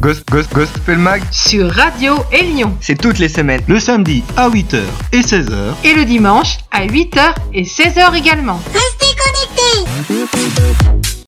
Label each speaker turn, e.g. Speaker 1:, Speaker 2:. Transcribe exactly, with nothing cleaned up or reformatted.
Speaker 1: Ghost, Ghost, Gospel Mag
Speaker 2: sur Radio Élion.
Speaker 1: C'est toutes les semaines.
Speaker 3: Le samedi à huit heures et seize heures.
Speaker 2: Et le dimanche à huit heures et seize heures également.
Speaker 4: Restez connectés.